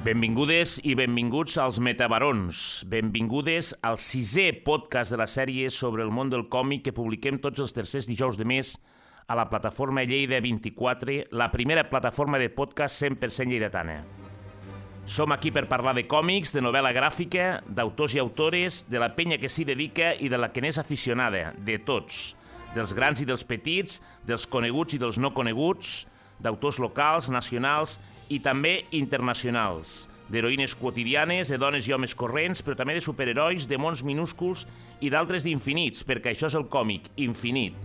Benvingudes i benvinguts als Metabarons. Benvingudes al 6è podcast de la sèrie sobre el món del còmic que publiquem tots els tercers dijous de mes a la plataforma Lleida 24, la primera plataforma de podcast 100% lleidatana. Som aquí per parlar de còmics, de novel·la gràfica, d'autors i autores, de la penya que s'hi dedica i de la que n'és aficionada, de tots, dels grans i dels petits, dels coneguts i dels no coneguts, d'autors locals, nacionals i també internacionals, d'heroïnes quotidianes, de dones i homes corrents, però també de superherois, de mons minúsculs i d'altres d'infinits, perquè això és el còmic, infinit.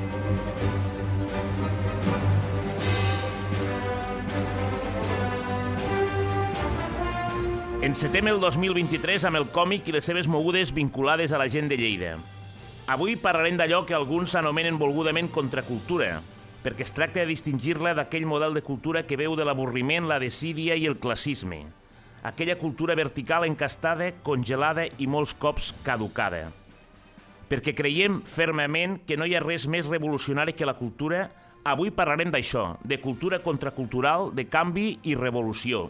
Encetem el 2023 amb el còmic i les seves mogudes vinculades a la gent de Lleida. Avui parlarem d'allò que alguns anomenen volgudament contracultura, perquè es tracta de distingir-la d'aquell model de cultura que veu de l'avorriment, la desídia i el classisme. Aquella cultura vertical encastada, congelada i molts cops caducada. Perquè creiem fermament que no hi ha res més revolucionari que la cultura, avui parlarem d'això, de cultura contracultural, de canvi i revolució.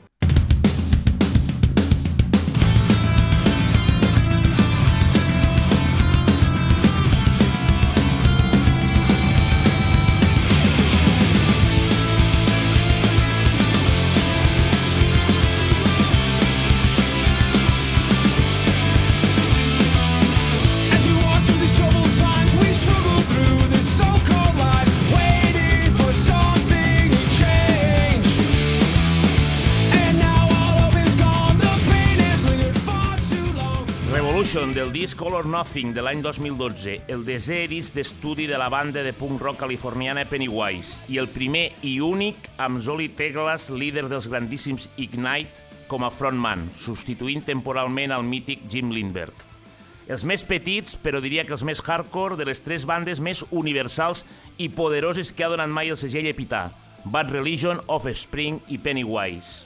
Del disc Color Nothing de l'any 2012, el desè disc d'estudi de la banda de punk rock californiana Pennywise i el primer i únic amb Zolly Teglas, líder dels grandíssims Ignite, com a frontman, substituint temporalment al mític Jim Lindberg. Els més petits, però diria que els més hardcore, de les tres bandes més universals i poderoses que ha donat mai el segell Epitaph, Bad Religion, Offspring i Pennywise.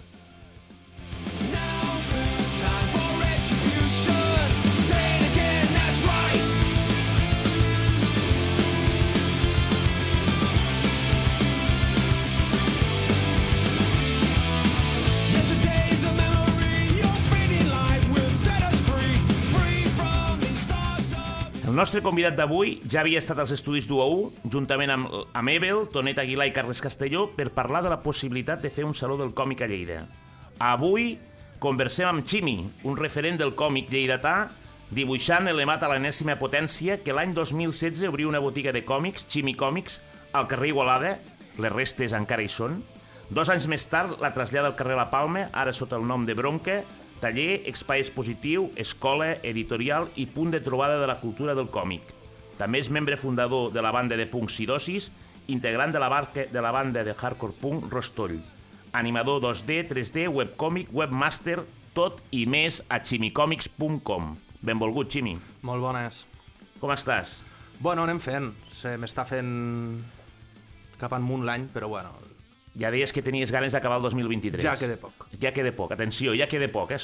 El nostre convidat d'avui ja havia estat als estudis d'UA1, juntament amb Ebel, Tonet Aguilar i Carles Castelló, per parlar de la possibilitat de fer un saló del còmic a Lleida. Avui conversem amb Chimi, un referent del còmic lleidatà, dibuixant elevat a l'enèsima potència, que l'any 2016 obrí una botiga de còmics, Chimi Còmics, al carrer Igualada, les restes encara hi són. 2 anys més tard la trasllada al carrer La Palma, ara sota el nom de Bronca, taller, espai expositiu, escola, editorial i punt de trobada de la cultura del còmic. També és membre fundador de la banda de punk Sirosis, integrant de la banda de hardcore punk Rostoll. Animador 2D, 3D, webcòmic, webmaster, tot i més a chimicòmics.com. Benvolgut, Chimi. Molt bones. Com estàs? Bueno, anem fent. Se m'està fent cap amunt l'any, però bueno... Ja deies que tenies ganes d'acabar el 2023. Ja queda poc. Ja queda poc. Atenció, ja queda poc,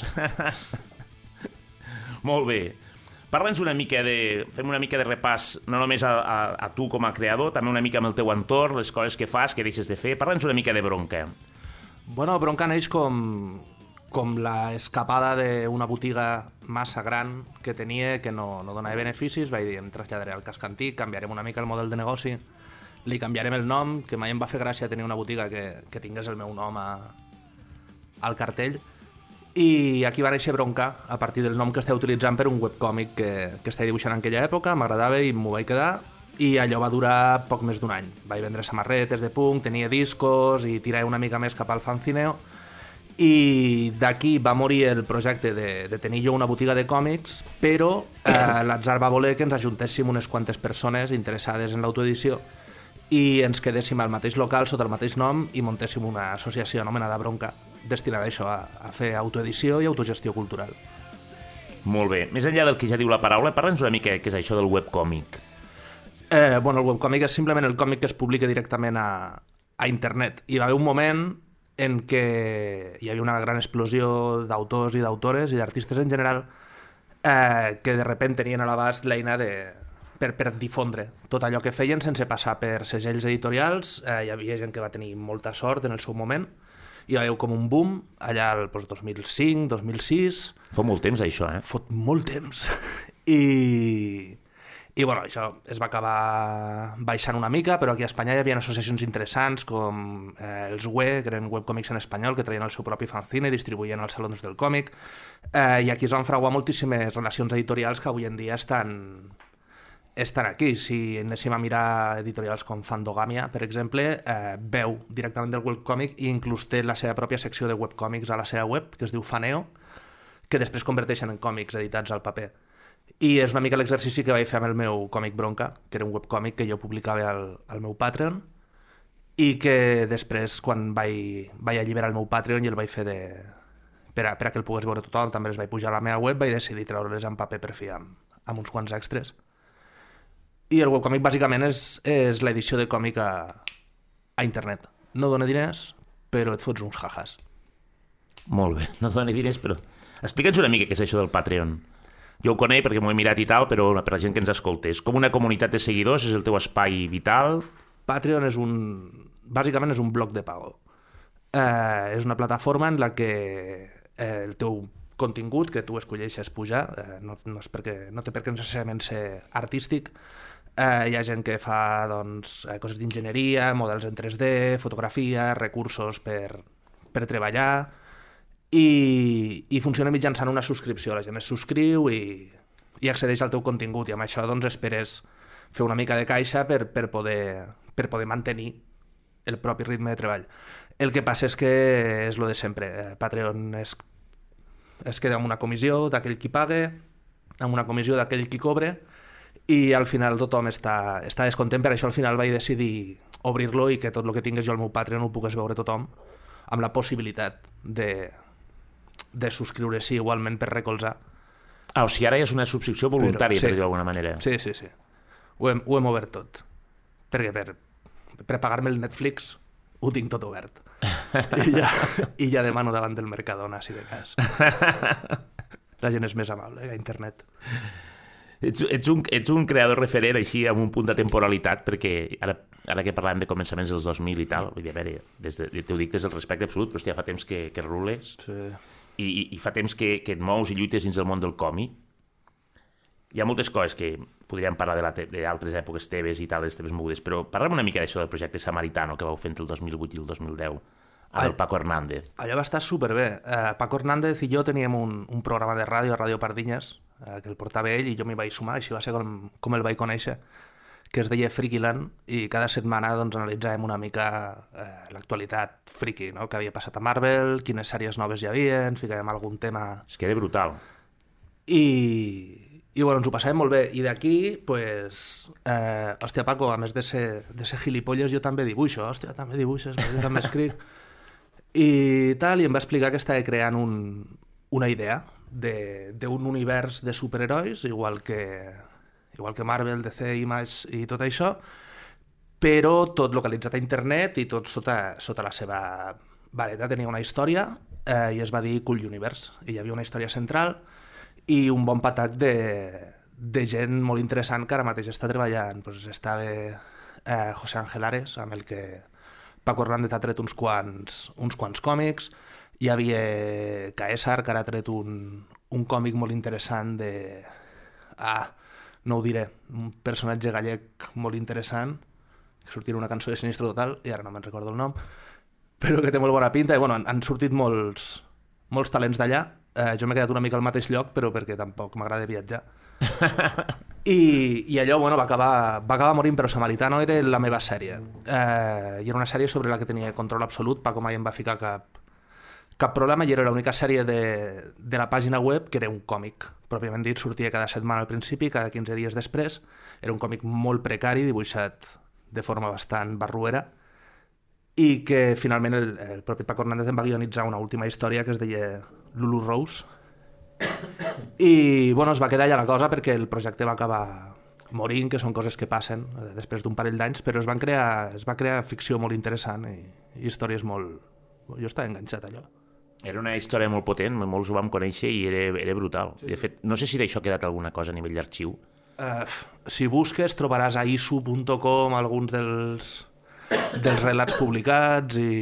Molt bé. Parla'ns una mica fem una mica de repàs, no només a tu com a creador, també una mica amb el teu entorn, les coses que fas, que deixes de fer. Parla'ns una mica de Bronca. Bueno, Bronca neix com l'escapada d'una botiga massa gran que tenia, que no donava beneficis. Vaig dir, em traslladaré al casc antic, canviarem una mica el model de negoci, li canviarem el nom, que mai em va fer gràcia tenir una botiga que tingués el meu nom al cartell, i aquí va néixer Bronca, a partir del nom que estava utilitzant per un webcòmic que estava dibuixant en aquella època, m'agradava i m'ho vaig quedar, i allò va durar poc més d'un any. Vaig vendre samarretes de punk, tenia discos i tirava una mica més cap al fanzineo, i d'aquí va morir el projecte de tenir jo una botiga de còmics, però l'atzar va voler que ens ajuntéssim unes quantes persones interessades en l'autoedició i ens quedéssim al mateix local sota el mateix nom i muntéssim una associació anomenada Bronca, destinada a això, a fer autoedició i autogestió cultural. Molt bé. Més enllà del que ja diu la paraula, parla'ns una mica què és això del webcòmic. Bueno, el webcòmic és simplement el còmic que es publica directament a internet. Hi va haver un moment en què hi havia una gran explosió d'autors i d'autores i d'artistes en general que de sobte tenien a l'abast l'eina per difondre tot allò que feien sense passar per segells editorials. Hi havia gent que va tenir molta sort en el seu moment hi va haver com un boom allà al 2005, 2006. Fa molt temps, això, Fot molt temps. I bueno, això es va acabar baixant una mica, però aquí a Espanya hi havia associacions interessants com els WE, que eren webcòmics en espanyol, que traien el seu propi fanzine i distribuïen als salons del còmic, i aquí es van fraguar moltíssimes relacions editorials que avui en dia estan aquí. Si anéssim a mirar editorials com Fandogamia, per exemple, veu directament del webcòmic i inclús té la seva pròpia secció de webcòmics a la seva web, que es diu Faneo, que després converteixen en còmics editats al paper. I és una mica l'exercici que vaig fer amb el meu còmic Bronca, que era un webcòmic que jo publicava al meu Patreon i que després, quan vaig alliberar el meu Patreon i el vaig fer per a que el pogués veure tothom, també els vaig pujar a la meva web, vaig decidir treure-les en paper per fi amb uns quants extras. I el webcòmic bàsicament és l'edició de còmic a internet. No dona diners, però et fots uns jajas. Molt bé, no dona diners, però... Explica'ns una mica què és això del Patreon. Jo ho conec perquè m'ho he mirat i tal, però per la gent que ens escolta, és com una comunitat de seguidors, és el teu espai vital? Patreon bàsicament és un bloc de pago. És una plataforma en la que el teu contingut que tu escolleixes pujar, no té per què necessàriament ser artístic. Hi ha gent que fa coses d'enginyeria, models en 3D, fotografia, recursos per treballar, i funciona mitjançant una subscripció. La gent es subscriu i accedeix al teu contingut, i amb això esperes fer una mica de caixa per poder mantenir el propi ritme de treball. El que passa és que és lo de sempre. Patreon es queda amb una comissió d'aquell qui paga, amb una comissió d'aquell qui cobra, i al final tothom està descontent. Per això al final vaig decidir obrir-lo i que tot el que tingués jo al meu Patreon ho pogués veure tothom, amb la possibilitat de subscriure-s'hi igualment per recolzar. O sigui, ara és una subscripció voluntària, per dir-ho d'alguna manera. Sí. Ho hem obert tot. Perquè per pagar-me el Netflix ho tinc tot obert. I ja demano davant del Mercadona, si de cas. La gent és més amable que a internet. Ets un creador referent així amb un punt de temporalitat, perquè ara que parlàvem de començaments dels 2000 i tal, vull dir, a veure, t'ho dic des del respecte absolut, però hòstia, fa temps que rules, sí. I fa temps que et mous i lluites dins del món del còmic. Hi ha moltes coses que podríem parlar d'altres èpoques teves i tal, les teves mogudes, però parlem una mica d'això del projecte Samaritano que vau fer entre el 2008 i el 2010 amb el Paco Hernández. Allò va estar superbé. Paco Hernández i jo teníem un programa de ràdio a Ràdio Pardinyes, que el portava ell i jo m'hi vaig sumar, així va ser com el vaig conèixer, que es deia Frikiland, i cada setmana analitzàvem una mica l'actualitat friki, no? Que havia passat a Marvel, quines sèries noves hi havia, ens ficàvem algun tema... És que era brutal. I bueno, ens ho passàvem molt bé. I d'aquí, pues, hòstia, Paco, a més de ser gilipolles, jo també dibuixo, hòstia, també dibuixes, jo també escric. I tal, i em va explicar que estava creant una idea d'un univers de superherois, igual que Marvel, DC, Image i tot això, però tot localitzat a internet i tot sota la seva vareta. Tenia una història i es va dir Cool Universe, i hi havia una història central i un bon patac de gent molt interessant que ara mateix està treballant. Pues estava José Ángel Ares, amb el que Paco Hernández ha tret uns quants còmics. Hi havia Caesar, que ara ha tret un còmic molt interessant no ho diré, un personatge gallec molt interessant, que sortia una cançó de Sinistre Total, i ara no me'n recordo el nom, però que té molt bona pinta, i bueno, han sortit molts talents d'allà. Jo m'he quedat una mica al mateix lloc, però perquè tampoc m'agrada viatjar. I allò, bueno, va acabar morint, però Samaritano era la meva sèrie. I era una sèrie sobre la que tenia control absolut. Paco mai em va ficar cap problema, i era l'única sèrie de la pàgina web que era un còmic. Pròpiament dit, sortia cada setmana al principi, cada 15 dies després. Era un còmic molt precari, dibuixat de forma bastant barruera, i que finalment el propi Paco Hernández em va guionitzar una última història que es deia Lulu Rose. I bueno, es va quedar allà la cosa perquè el projecte va acabar morint, que són coses que passen després d'un parell d'anys, però es va crear ficció molt interessant i històries molt... Jo estava enganxat allò. Era una història molt potent, molts ho vam conèixer i era brutal. Sí. De fet, no sé si d'això ha quedat alguna cosa a nivell d'arxiu. Si busques trobaràs a isu.com alguns dels relats publicats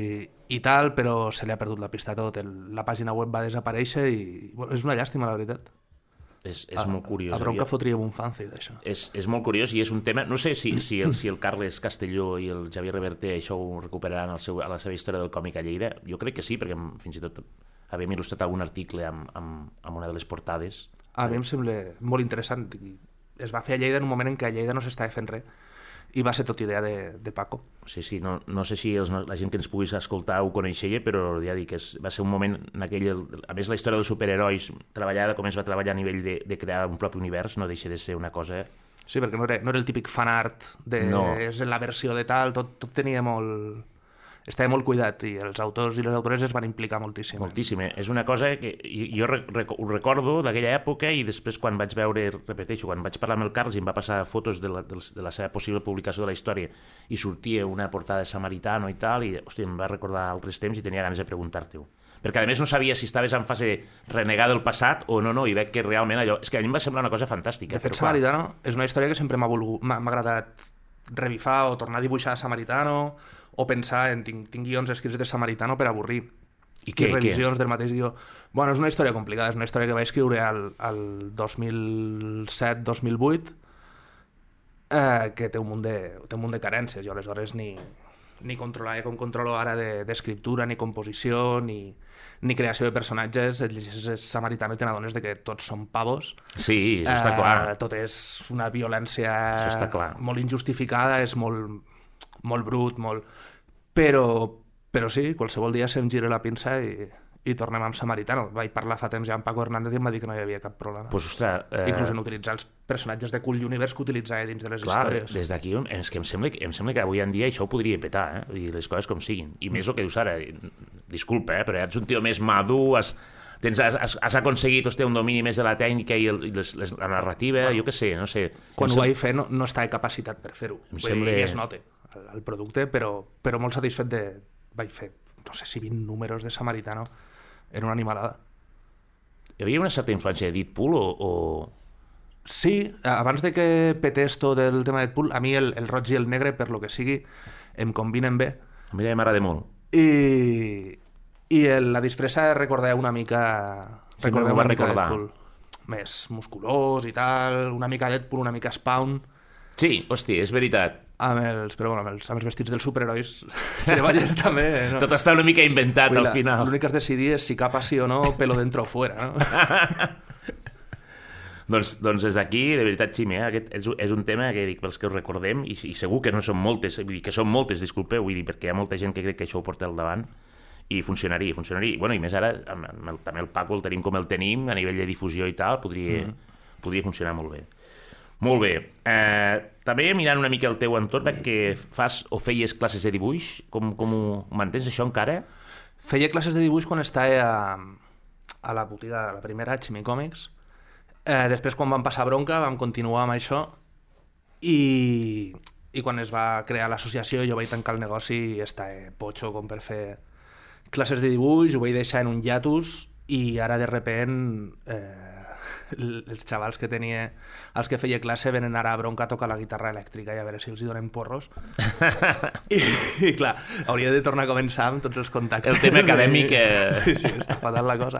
i tal, però se li ha perdut la pista a tot. La pàgina web va desaparèixer i bueno, és una llàstima, la veritat. És molt curiós. A bronca fotríem un fancy d'això. És molt curiós i és un tema... No sé si el Carles Castelló i el Xavier Reverter això ho recuperaran a la seva història del còmic a Lleida. Jo crec que sí, perquè fins i tot havíem il·lustrat algun article amb una de les portades. A mi em sembla molt interessant. Es va fer a Lleida en un moment en què a Lleida no s'estava fent res i va ser tot idea de Paco. Sí, no sé si la gent que ens puguis escoltar ho coneixia, però ja dic que va ser un moment en aquell... A més, la història dels superherois treballada com es va treballar a nivell de crear un propi univers no deixa de ser una cosa... Sí, perquè no era el típic fanart de és la versió de tal, tot tenia molt... Estava molt cuidat i els autors i les autores es van implicar moltíssim. Moltíssim. És una cosa que jo ho recordo d'aquella època i després quan vaig veure, repeteixo, quan vaig parlar amb el Carles i em va passar fotos de la seva possible publicació de la història i sortia una portada de Samaritano i tal, i hòstia, em va recordar altres temps i tenia ganes de preguntar-te-ho. Perquè a més no sabia si estaves en fase de renegar del passat o no, i veig que realment allò... És que a mi em va semblar una cosa fantàstica. De fet, Samaritano és una història que sempre m'ha agradat revifar o tornar a dibuixar Samaritano o pensar en tinc guions escrits de Samaritano per avorrir. I revisions del mateix guió. Bueno, és una història complicada, és una història que vaig escriure al 2007-2008 que té un munt de carències. Jo aleshores ni controlava com controlo ara d'escriptura, ni composició, ni creació de personatges. Et llegeixes Samaritano i te n'adones que tots són pavos. Sí, això està clar. Tot és una violència molt injustificada, és molt brut, però sí, qualsevol dia se'm gira la pinça i tornem amb Samaritano. Vaig parlar fa temps ja amb Paco Hernández i em va dir que no hi havia cap problema. Pues, ostres, inclús en utilitzar els personatges de Cool Universe que utilitzava dins de les històries. Des d'aquí és que em sembla que avui en dia això ho podria petar, i les coses com siguin. I més el que dius ara, disculpa, però ets un tio més madur, has aconseguit un domini més de la tècnica i la narrativa, jo què sé, no sé. Quan ho vaig fer no estava capacitat per fer-ho. I es nota el producte, però molt satisfet vaig fer, no sé si 20 números de Samaritano, era una animalada. Hi havia una certa influència de Deadpool o...? Sí, abans de que petés tot el tema de Deadpool, a mi el roig i el negre, per lo que sigui, em combinen bé. A mi m'agrada molt. I la disfressa recordava una mica... Recordava una mica Deadpool. Més musculós i tal, una mica Deadpool, una mica Spawn. Sí, hòstia, és veritat. Amb els vestits dels superherois treballes també, no? Tot està una mica inventat al final. L'únic que has de decidir és si capa sí o no, pelo dentro o fuera, no? doncs des d'aquí, de veritat, Ximi, aquest és un tema que dic pels que ho recordem i segur que no són moltes, vull dir que són moltes, disculpeu, vull dir, perquè hi ha molta gent que crec que això ho porta al davant i funcionaria. Bueno, i més ara, també el Paco el tenim com el tenim, a nivell de difusió i tal, podria funcionar molt bé. Molt bé. També mirant una mica el teu entorn, veig que fas o feies classes de dibuix. Com ho mantens, això, encara? Feia classes de dibuix quan estava a la botiga, la primera, a Chimi Comics. Després, quan vam passar bronca, vam continuar amb això i quan es va crear l'associació jo vaig tancar el negoci i estava potxo com per fer classes de dibuix, ho vaig deixar en un hiatus i ara de repent... els xavals que tenia, els que feia classe venen ara a bronca a tocar la guitarra elèctrica i a veure si els hi donen porros i clar, hauria de tornar a començar amb tots els contactes, el tema acadèmic sí, està fatal la cosa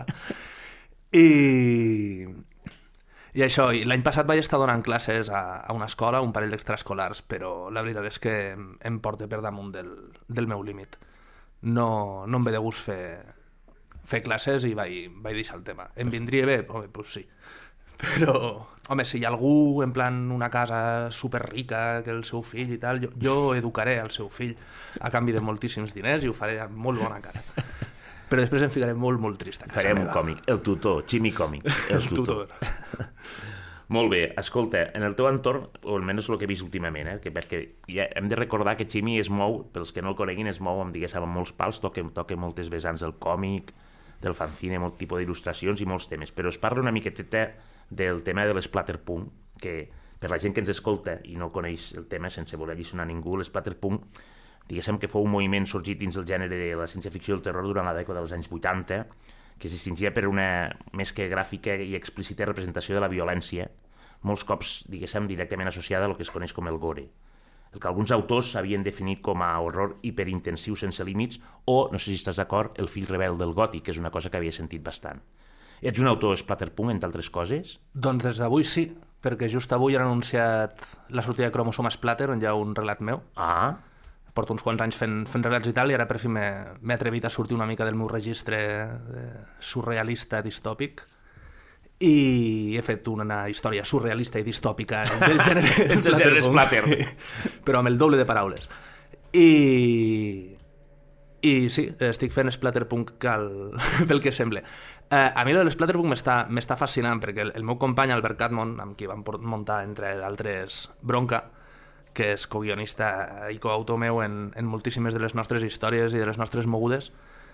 i això, l'any passat vaig estar donant classes a una escola, un parell d'extraescolars, però la veritat és que em porta per damunt del meu límit. No em ve de gust fer classes i vaig deixar el tema. Em vindria bé? Home, doncs sí. Però, home, si hi ha algú en plan una casa superrica que el seu fill i tal, jo educaré el seu fill a canvi de moltíssims diners i ho faré amb molt bona cara. Però després em ficaré molt, molt trist. Farem un còmic, el tutor, Ximi Còmic. El tutor. Molt bé, escolta, en el teu entorn, o almenys el que he vist últimament, perquè ja hem de recordar que Ximi es mou, pels que no el coneguin, es mou amb molts pals, toca moltes vessants del còmic, del fanzine, molt tipus d'il·lustracions i molts temes, però es parla una miqueteta del tema de l'Splatterpunk, que per la gent que ens escolta i no coneix el tema, sense voler alliçonar ningú, l'Splatterpunk, diguéssim que fou un moviment sorgit dins el gènere de la ciència-ficció i el terror durant la dècada dels anys 80, que es distingia per una més que gràfica i explícita representació de la violència, molts cops, diguéssim, directament associada a el que es coneix com el gore. el que alguns autors havien definit com a horror hiperintensiu sense límits, o, no sé si estàs d'acord, el fill rebel del gòtic, que és una cosa que havia sentit bastant. Ets un autor splatterpunk, entre altres coses? Doncs des d'avui sí, perquè just avui han anunciat la sortida de Chromosome Splatter, on hi ha un relat meu. Porto uns quants anys fent relats i tal, i ara per fi m'he atrevit a sortir una mica del meu registre surrealista distòpic, i he fet una història surrealista i distòpica del gènere splatter, sí, però amb el doble de paraules. I sí, estic fent splatterpunk pel que sembla. A mi l'splatterpunk m'està fascinant, perquè el meu company Albert Catmon, amb qui vam muntar entre d'altres Bronca, que és coguionista i coautor meu en moltíssimes de les nostres històries i de les nostres mogudes,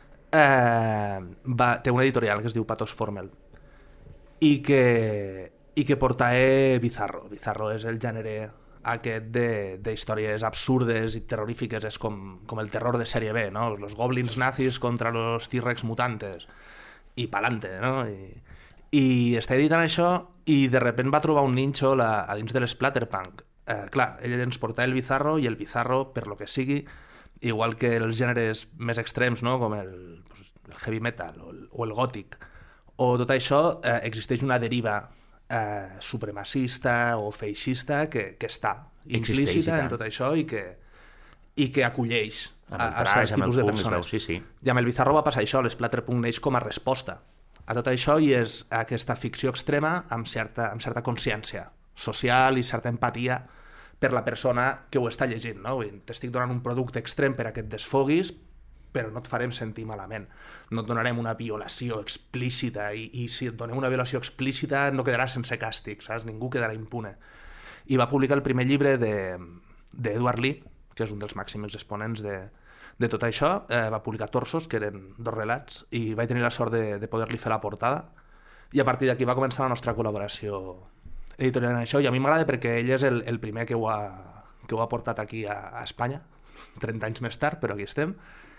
té una editorial que es diu Pathos Formel, i que portae Bizarro. Bizarro és el gènere aquest d'històries absurdes i terrorífiques, és com el terror de sèrie B, no? Los goblins nazis contra los T-Rex mutantes, i pa'lante, no? I està editant això, i de repent va trobar un ninxo a dins de l'splatterpunk. Clar, ell ens porta el Bizarro, i el Bizarro, per lo que sigui, igual que els gèneres més extrems, no? Com el heavy metal o el gòtic, o tot això, existeix una deriva supremacista o feixista que està implícita en tot això i que acolleix a certs tipus de persones. Sí. I amb el Bizarro va passar això, l'Splatterpunk neix com a resposta a tot això, i és aquesta ficció extrema amb certa consciència social i certa empatia per la persona que ho està llegint, no? T'estic donant un producte extrem per a que et desfoguis, però no et farem sentir malament. No et donarem una violació explícita, i si et donem una violació explícita no quedarà sense càstig, saps? Ningú quedarà impune. I va publicar el primer llibre d'Edward Lee, que és un dels màxims exponents de tot això. Va publicar Torsos, que eren 2 relats, i vaig tenir la sort de poder-li fer la portada, i a partir d'aquí va començar la nostra col·laboració editorial en això, i a mi m'agrada perquè ell és el primer que ho ha portat aquí a Espanya, 30 anys més tard, però aquí estem.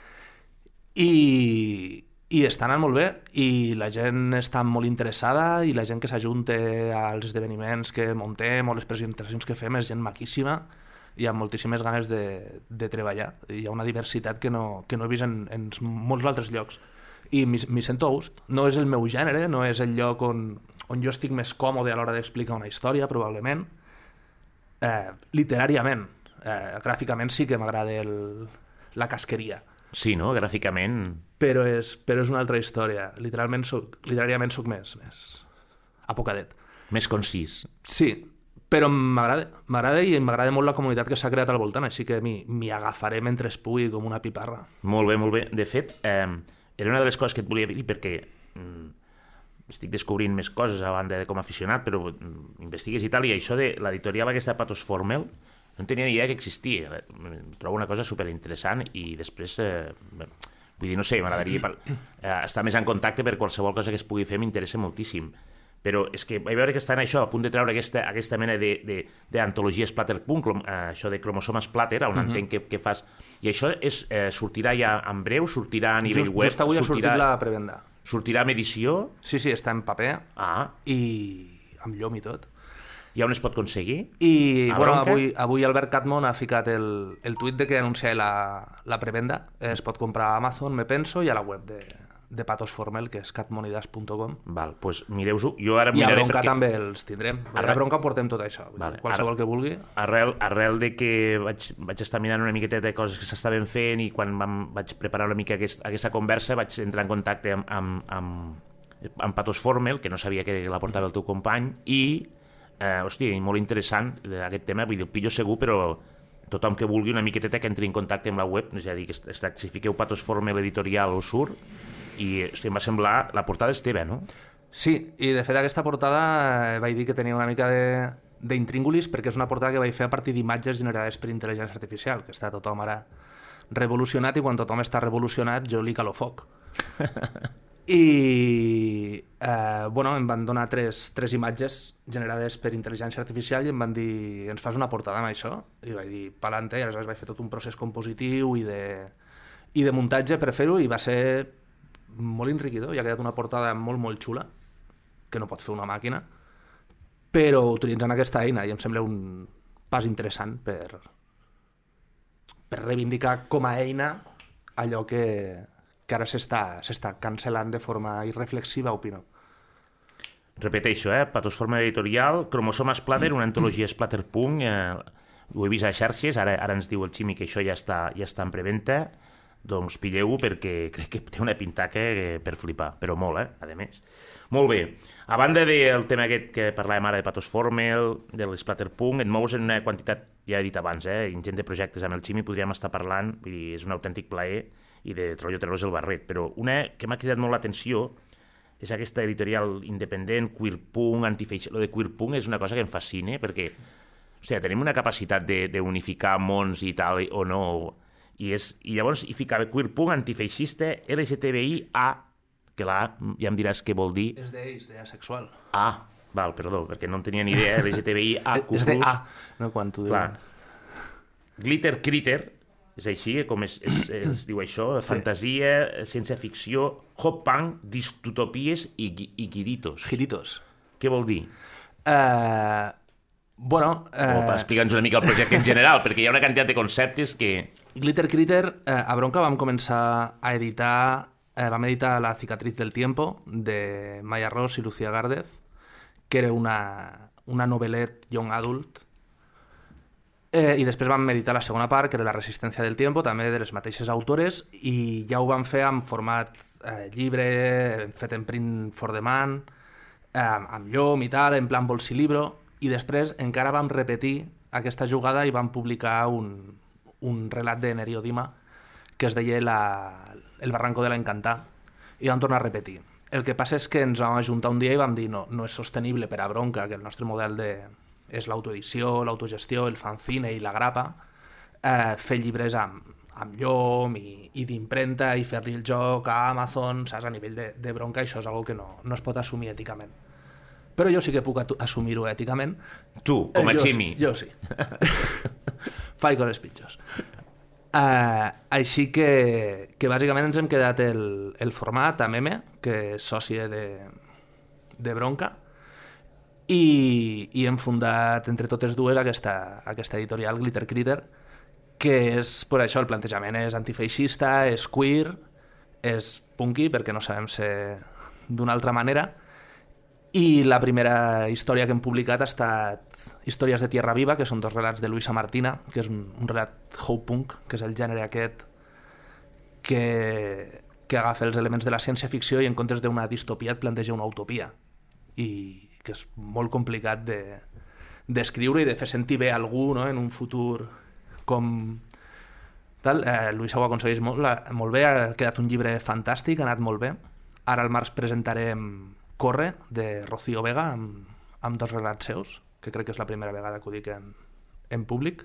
I està anant molt bé, i la gent està molt interessada, i la gent que s'ajunta als esdeveniments que muntem o les presentacions que fem és gent maquíssima i amb moltíssimes ganes de treballar. Hi ha una diversitat que no he vist en molts altres llocs, i m'hi sento a gust. No és el meu gènere, no és el lloc on jo estic més còmode a l'hora d'explicar una història, probablement. Literàriament, gràficament sí que m'agrada la casqueria. Sí, no? Gràficament... Però és una altra història. Literàriament soc més apocadet. Més concís. Sí, però m'agrada i m'agrada molt la comunitat que s'ha creat al voltant, així que m'hi agafaré mentre es pugui com una piparra. Molt bé, molt bé. De fet, era una de les coses que et volia dir, perquè estic descobrint més coses a banda de com a aficionat, però investigues i tal, i això de l'editorial aquesta de Pathos Formel, no tenia ni idea que existia. Trobo una cosa superinteressant, i després, vull dir, no sé, m'agradaria estar més en contacte, per qualsevol cosa que es pugui fer m'interessa moltíssim. Però és que vaig veure que estan això, a punt de treure aquesta mena d'antologia splatterpunk, això de Chromosome Splatter, on entenc que fas... I això sortirà ja en breu, sortirà a nivell web... Just avui ha sortit la prevenda. Sortirà amb edició? Sí, està en paper, i amb llum i tot. I on es pot aconseguir? I avui Albert Catmon ha ficat el tuit de que anuncia la prevenda. Es pot comprar a Amazon, me penso, i a la web de Pathos Formel, que és catmonidas.com. Val, doncs mireu-ho. Jo ara i a Bronca també els tindrem. A Bronca portem tot això, qualsevol que vulgui. Arrel de que vaig estar mirant una miqueta de coses que s'estaven fent, i quan vaig preparar una mica aquesta conversa vaig entrar en contacte amb Pathos Formel, que no sabia que la portava el teu company, i hòstia, molt interessant aquest tema, vull dir, el pillo segur, però tothom que vulgui una miqueteta que entri en contacte amb la web, és a dir, que si fiqueu Pathos Formel editorial o surt, i hòstia, em va semblar, la portada és teva, no? Sí, i de fet aquesta portada vaig dir que tenia una mica d'intríngulis, perquè és una portada que vaig fer a partir d'imatges generades per intel·ligència artificial, que està tothom ara revolucionat, i quan tothom està revolucionat jo li calo foc. I em van donar tres imatges generades per intel·ligència artificial, i em van dir, ens fas una portada amb això? I vaig dir, pa'lante, i aleshores vaig fer tot un procés compositiu i de muntatge per fer-ho, i va ser molt enriquidor, i ha quedat una portada molt, molt xula, que no pot fer una màquina, però utilitzant aquesta eina, i em sembla un pas interessant per per reivindicar com a eina allò que ara s'està cancel·lant de forma irreflexiva, opino. Repeteixo, Patosforma Editorial, Cromosoma Splatter, una antologia Splatterpunk, ho he vist a xarxes, ara ens diu el Ximi que això ja està en preventa, doncs pilleu-ho perquè crec que té una pintaca per flipar, però molt, a més. Molt bé, a banda del tema aquest que parlàvem ara de Patosformel, de l'Splatterpunk, et mous en una quantitat, ja he dit abans, ingent de projectes amb el Ximi, podríem estar parlant, vull dir, és un autèntic plaer, i de rotllo treure's el barret, però una que m'ha cridat molt l'atenció és aquesta editorial independent, queerpunk, antifeixista. Lo de queerpunk és una cosa que em fascina, perquè tenim una capacitat d'unificar mons i tal, o no, i llavors hi ficava queerpunk, antifeixista, LGTBI-A, que l'A ja em diràs què vol dir. És d'asexual. Val, perdó, perquè no en tenia ni idea, LGTBI-A, és d'A, no quan t'ho diuen. Glitter Critter, és així com es diu això, fantasia, ciència-ficció, hot punk, distopies i guiritos. Giritos. Què vol dir? Explica'ns una mica el projecte en general, perquè hi ha una quantitat de conceptes que... Glitter Critter, a Bronca vam començar a editar, vam editar La cicatriz del tiempo, de Maya Ross i Lucía Gárdez, que era una novel·let young adult, i després vam editar la segona part, que era La resistencia del tiempo, també de les mateixes autores, i ja ho vam fer en format llibre, fet en print for demand, amb llom i tal, en plan bolsilibro, i després encara vam repetir aquesta jugada i vam publicar un relat de Nerio Dima que es deia El barranco de la Encantada, i vam tornar a repetir. El que passa és que ens vam ajuntar un dia i vam dir no és sostenible per a Bronca, que el nostre model és l'autoedició, l'autogestió, el fanzine i la grapa, fer llibres amb llom i d'impremta i fer-li el joc a Amazon, saps? A nivell de Bronca, això és una que no es pot assumir èticament. Però jo sí que puc assumir-ho èticament. Tu, com a Ximi. Jo sí. Faig coses pitjors. Així que bàsicament ens hem quedat el format a Meme, que és sòcia de Bronca, i hem fundat entre totes dues aquesta editorial Glitter Critter, que és, per això, el plantejament és antifeixista, és queer, és punky, perquè no sabem ser d'una altra manera, i la primera història que hem publicat ha estat Històries de Tierra Viva, que són 2 relats de Luisa Martina, que és un relat hope-punk, que és el gènere aquest que agafa els elements de la ciència-ficció i en comptes d'una distopia et planteja una utopia, i que és molt complicat d'escriure i de fer sentir bé algú, no?, en un futur com tal. Luisa ho aconsegueix molt bé, ha quedat un llibre fantàstic, ha anat molt bé. Ara al març presentarem Corre, de Rocío Vega, amb 2 relats seus, que crec que és la primera vegada que ho dic en públic,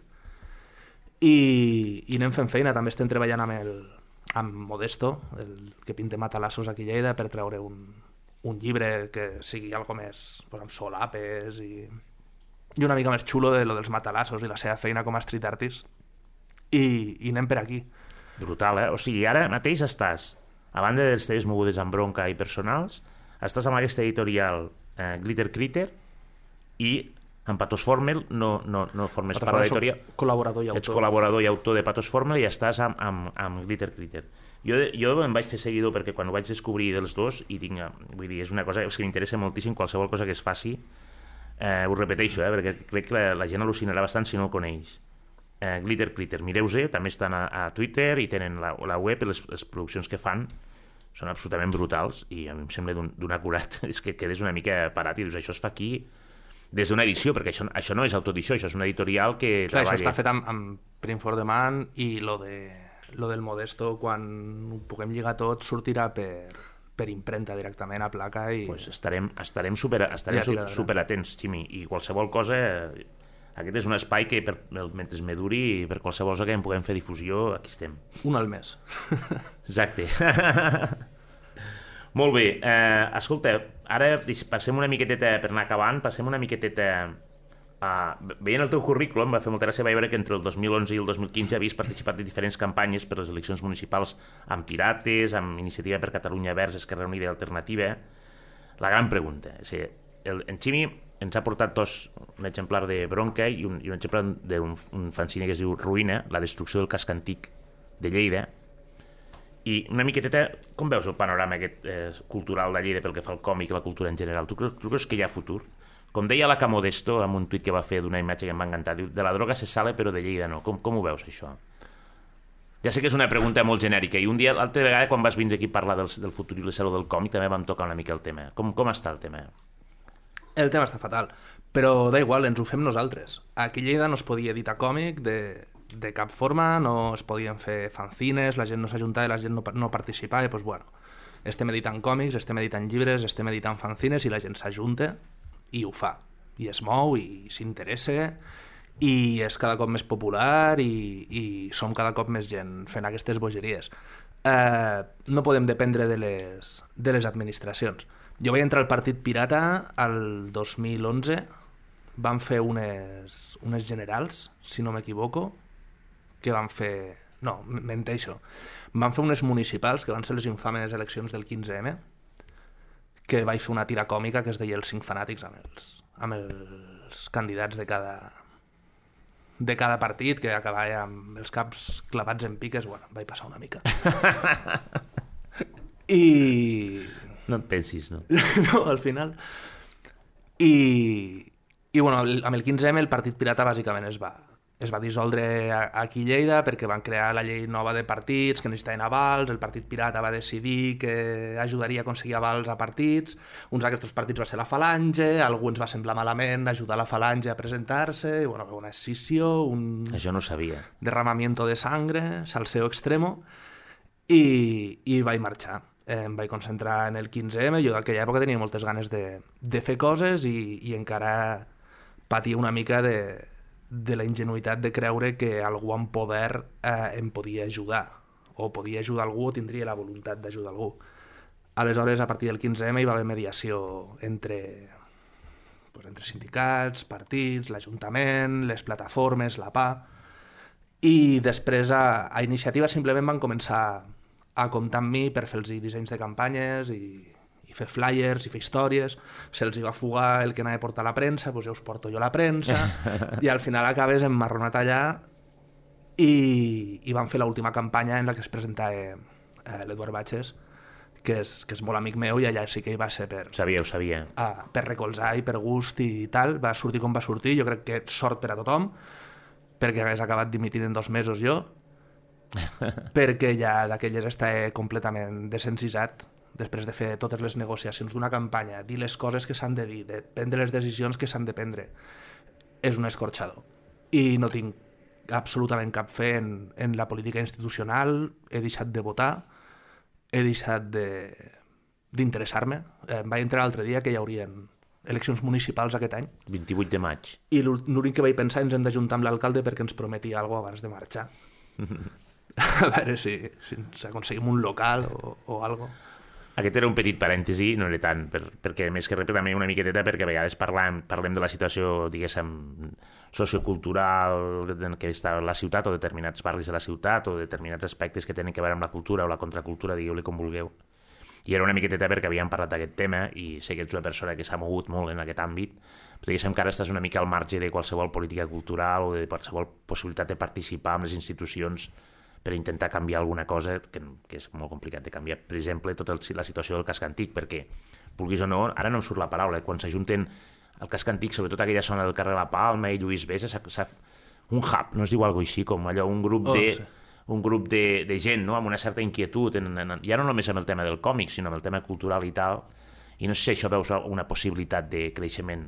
i anem fent feina. També estem treballant amb Modesto, el que pinta matalassos aquí a Lleida, per treure un llibre que sigui algo més amb solapes i una mica més xulo de lo dels matalassos i la seva feina com a street artist, i anem per aquí. Brutal, O sigui, ara mateix estàs, a banda de les teves mogudes amb Bronca i personals, estàs amb aquesta editorial Glitter Critter, i amb Patosformel no formes part de l'editorial. Col·laborador i autor. Ets col·laborador i autor de Patosformel i estàs amb Glitter Critter. Jo em vaig fer seguidor perquè quan ho vaig descobrir dels dos, i vull dir, és una cosa que m'interessa moltíssim, qualsevol cosa que es faci, ho repeteixo, perquè crec que la gent al·lucinarà bastant si no el coneix. Glitter Critter, mireu-se, també estan a Twitter i tenen la web, i les produccions que fan són absolutament brutals, i a mi em sembla d'un acurat, és que quedes una mica parat i dius, això es fa aquí des d'una edició, perquè això no és autoedició, això és una editorial que treballa. Això està fet amb print for demand, i lo del Modesto, quan ho puguem lligar tot, sortirà per impremta directament a placa, i pues estarem superatents, Ximi, i qualsevol cosa, aquest és un espai que mentre me duri, per qualsevol cosa que en puguem fer difusió, aquí estem. Un al mes. Exacte. Molt bé, escolta, ara passem una miqueteta, per anar acabant, veient el teu currículum, va fer molta gràcia veure que entre el 2011 i el 2015 havies participat en diferents campanyes per les eleccions municipals amb Pirates, amb Iniciativa per Catalunya Verds, Esquerra Unida i Alternativa. La gran pregunta, en Ximi ens ha portat un exemplar de Bronca i un exemplar d'un fanzine que es diu Ruïna, la destrucció del casc antic de Lleida. I una miqueteta, com veus el panorama aquest cultural de Lleida pel que fa al còmic i la cultura en general? Tu creus que hi ha futur? Com deia la Camodesto en un tuit que va fer d'una imatge que em va encantar, diu, de la droga se sale però de Lleida no. Com ho veus, això? Ja sé que és una pregunta molt genèrica i un dia, l'altra vegada, quan vas vindre aquí a parlar del futur i la salut del còmic, també vam tocar una mica el tema. Com està el tema? El tema està fatal, però da igual, ens ho fem nosaltres. Aquí a Lleida no es podia editar còmic de cap forma, no es podien fer fanzines, la gent no s'ajuntava, la gent no participava, doncs bueno, estem editant còmics, estem editant llibres, estem editant fanzines i la gent s'ajunta i ho fa, i es mou i s'interessa i és cada cop més popular i som cada cop més gent fent aquestes bogeries. No podem dependre de les administracions. Jo vaig entrar al Partit Pirata el 2011, van fer unes generals, si no m'equivoco, que van fer... No, menteixo. Van fer unes municipals, que van ser les infames eleccions del 15M, que vaig fer una tira còmica que es deia Els 5 fanàtics amb els candidats de cada partit, que acabava amb els caps clavats en piques. Bueno, vaig passar una mica. I... No et pensis, no? No, al final. I bueno, amb el 15M el Partit Pirata bàsicament es va dissoldre aquí a Lleida perquè van crear la llei nova de partits que necessitaven avals, el Partit Pirata va decidir que ajudaria a aconseguir avals a partits, uns d'aquests partits va ser la Falange, a alguns va semblar malament ajudar la Falange a presentar-se, i bueno, una escissió, Això no ho sabia. Derramamiento de sangre, salseo extremo, i vaig marxar. Em vaig concentrar en el 15M, jo d'aquella època tenia moltes ganes de fer coses i encara patia una mica de la ingenuïtat de creure que algú amb poder em podia ajudar, o podia ajudar algú o tindria la voluntat d'ajudar algú. Aleshores, a partir del 15M hi va haver mediació entre sindicats, partits, l'Ajuntament, les plataformes, la PA, i després a Iniciativa simplement van començar a comptar amb mi per fer-los dissenys de campanyes i fer flyers i fer històries. Se'ls va fugar el que anava a portar a la premsa, doncs ja us porto jo la premsa, i al final acabes emmarronat allà i van fer l'última campanya en la que es presentava l'Eduard Batxes, que és molt amic meu, i allà sí que hi va ser Ho sabia. Per recolzar i per gust i tal. Va sortir com va sortir, jo crec que sort per a tothom, perquè hagués acabat dimitint en 2 mesos jo, perquè ja d'aquelles estava completament desencisat després de fer totes les negociacions d'una campanya, dir les coses que s'han de dir, de prendre les decisions que s'han de prendre. És un escorxador. I no tinc absolutament cap fe en la política institucional, he deixat de votar, he deixat d'interessar-me. Vaig entrar l'altre dia que hi haurien eleccions municipals aquest any. 28 de maig. I l'únic que vaig pensar, ens hem d'ajuntar amb l'alcalde perquè ens prometia alguna cosa abans de marxar. A veure si ens aconseguim un local o alguna cosa. Aquest era un petit parèntesi, no era tant, perquè més que res també una miqueteta, perquè a vegades parlem de la situació, diguéssim, sociocultural que està a la ciutat, o determinats barris de la ciutat, o determinats aspectes que tenen a veure amb la cultura o la contracultura, digueu-li com vulgueu. I era una miqueteta perquè havíem parlat d'aquest tema, i sé que ets una persona que s'ha mogut molt en aquest àmbit, però diguéssim que ara estàs una mica al marge de qualsevol política cultural o de qualsevol possibilitat de participar en les institucions per intentar canviar alguna cosa que és molt complicat de canviar. Per exemple, tota la situació del casc antic, perquè, vulguis o no, ara no em surt la paraula, quan s'ajunten el casc antic, sobretot aquella zona del carrer La Palma i Lluís Besa, un hub, no es diu alguna així, com allò, un grup de gent, no?, amb una certa inquietud, ja no només amb el tema del còmic, sinó amb el tema cultural i tal, i no sé si això veus una possibilitat de creixement.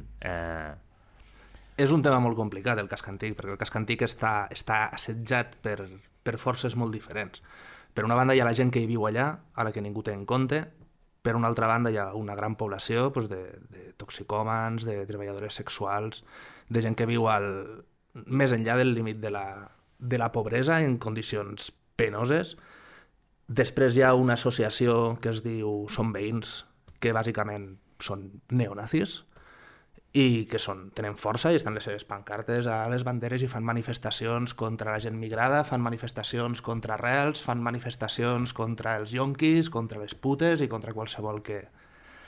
És un tema molt complicat, el casc antic, perquè el casc antic està assetjat per forces molt diferents. Per una banda hi ha la gent que hi viu allà, a la que ningú té en compte, per una altra banda hi ha una gran població de toxicòmans, de treballadores sexuals, de gent que viu més enllà del límit de la pobresa en condicions penoses. Després hi ha una associació que es diu Som Veïns, que bàsicament són neonazis, i que tenen força i estan les seves pancartes a les banderes i fan manifestacions contra la gent migrada, fan manifestacions contra Arrels, fan manifestacions contra els yonquis, contra les putes i contra qualsevol que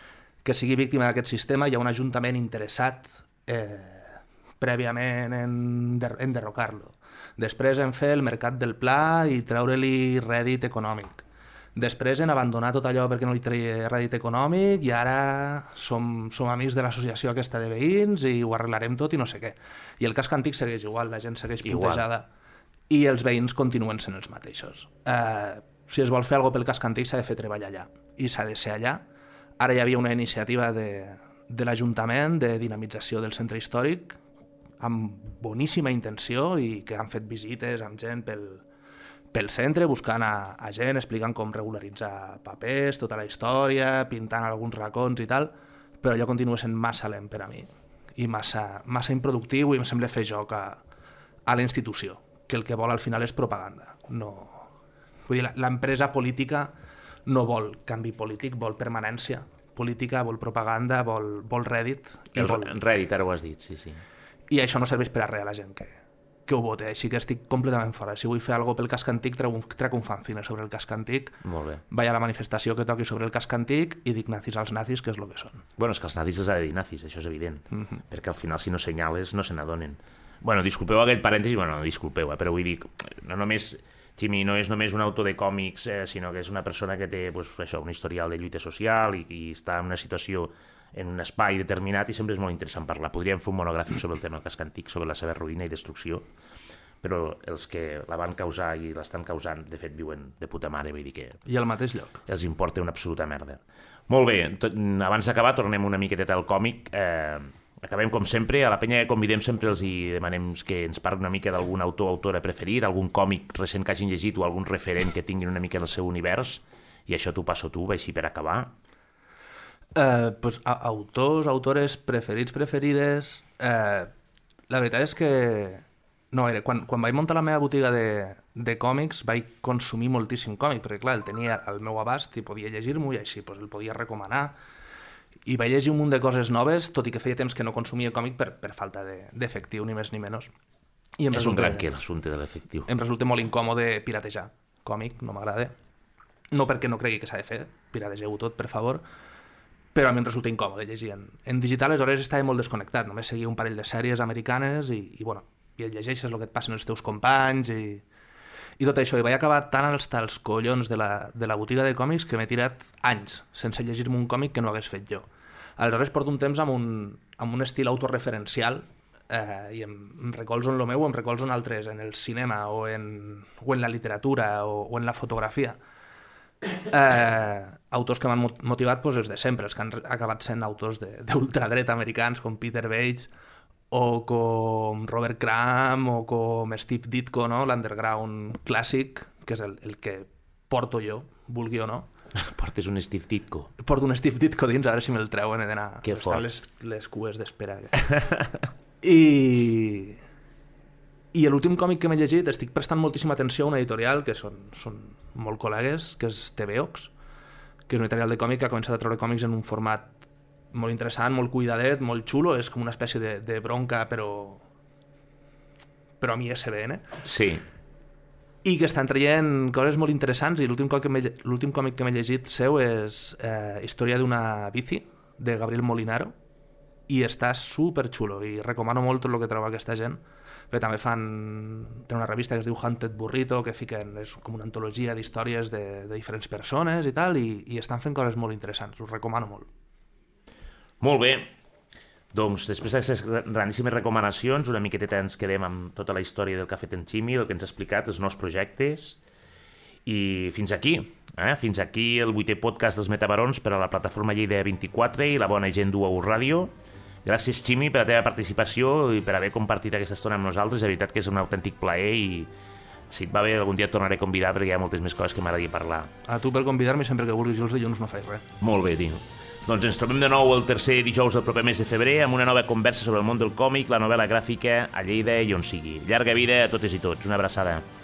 que sigui víctima d'aquest sistema, hi ha un ajuntament interessat prèviament en derrocar-lo. Després en fer el mercat del pla i treure-li rèdit econòmic. Després en abandonar tot allò perquè no li treia rèdit econòmic i ara som amics de l'associació aquesta de veïns i ho arreglarem tot i no sé què. I el casc antic segueix igual, la gent segueix putejada i els veïns continuen sent els mateixos. Si es vol fer alguna cosa pel casc antic s'ha de fer treballar allà i s'ha de ser allà. Ara hi havia una iniciativa de l'Ajuntament de dinamització del centre històric amb boníssima intenció i que han fet visites amb gent pel centre, buscant a gent, explicant com regularitzar papers, tota la història, pintant alguns racons i tal, però allò continua sent massa lent per a mi i massa improductiu i em sembla fer joc a la institució, que el que vol al final és propaganda. No... Vull dir, l'empresa política no vol canvi polític, vol permanència política, vol propaganda, vol rèdit. Rèdit, ara ho has dit, sí, sí. I això no serveix per a res a la gent que ho vota, així que estic completament fora. Si vull fer alguna cosa pel casc antic, trec un fanzine sobre el casc antic, vaig a la manifestació que toqui sobre el casc antic i dic nazis als nazis, que és el que són. Bueno, és que els nazis els ha de dir nazis, això és evident, perquè al final si no senyales no se n'adonen. Bueno, disculpeu aquest parèntesi, bueno, no disculpeu, però vull dir, no només, Ximi no és només un autor de còmics, sinó que és una persona que té un historial de lluita social i està en una situació en un espai determinat i sempre és molt interessant parlar. Podríem fer un monogràfic sobre el tema del casc antic, sobre la seva ruïna i destrucció, però els que la van causar i l'estan causant, de fet, viuen de puta mare, vull dir que... I al mateix lloc. Els importa una absoluta merda. Molt bé, abans d'acabar tornem una miqueta al còmic. Acabem com sempre, a la penya que convidem sempre els hi demanem que ens parli una mica d'algun autor o autora preferit, algun còmic recent que hagin llegit o algun referent que tinguin una mica en el seu univers, i això t'ho passo tu, així per acabar. Autors, autores preferides... La veritat és que... No, quan vaig muntar la meva botiga de còmics vaig consumir moltíssim còmic, perquè clar, el tenia al meu abast i podia llegir-m'ho i així el podia recomanar. I vaig llegir un munt de coses noves, tot i que feia temps que no consumia còmic per falta d'efectiu, ni més ni menys. És un gran que l'assumpte de l'efectiu. Em resulta molt incòmode piratejar còmic, no m'agrada. No perquè no cregui que s'ha de fer, pirategeu-ho tot, per favor, però a mi em resulta incòmode llegir en digital. Aleshores estava molt desconnectat, només seguia un parell de sèries americanes i et llegeixes el que et passen els teus companys i tot això. I vaig acabar tan als tals collons de la botiga de còmics que m'he tirat anys sense llegir-me un còmic que no hagués fet jo. Aleshores porto un temps amb un estil autorreferencial i em recolzo en el meu o em recolzo en altres, en el cinema o en la literatura o en la fotografia. Autors que m'han motivat els de sempre, els que han acabat sent autors d'ultradreta americans com Peter Bates o com Robert Crumb o com Steve Ditko, no? L'underground clàssic, que és el que porto jo, vulgui o no. Portes un Steve Ditko? Porto un Steve Ditko dins, a veure si me'l treuen, he d'anar a estar les cues d'espera. I l'últim còmic que m'he llegit, estic prestant moltíssima atenció a una editorial que són molt col·legues, que és TVOX, que és una editorial de còmic que ha començat a treure còmics en un format molt interessant, molt cuidadet, molt xulo, és com una espècie de bronca, però amb ISBN. Sí. I que estan traient coses molt interessants, i l'últim còmic que m'he llegit seu és Història d'una bici, de Gabriel Molinaro, i està superxulo, i recomano molt tot el que troba aquesta gent, perquè també tenen una revista que es diu Hunted Burrito, que fiquen, és com una antologia d'històries de diferents persones i tal, i estan fent coses molt interessants, us recomano molt. Molt bé, doncs després d'aquestes grandíssimes recomanacions una miqueteta ens quedem amb tota la història del que ha fet en Ximi, el que ens ha explicat, els nous projectes, i fins aquí el 8è podcast dels Metabarons per a la plataforma Lleida 24 i la bona gent d'UAU Ràdio. Gràcies, Ximi, per la teva participació i per haver compartit aquesta estona amb nosaltres. La veritat que és un autèntic plaer i si et va bé algun dia et tornaré a convidar perquè hi ha moltes més coses que m'agradaria parlar. A tu per convidar-me sempre que vulguis, jo els dilluns no faig res. Molt bé, tio. Doncs ens trobem de nou el tercer dijous del proper mes de febrer amb una nova conversa sobre el món del còmic, la novel·la gràfica, a Lleida i on sigui. Llarga vida a totes i tots. Una abraçada.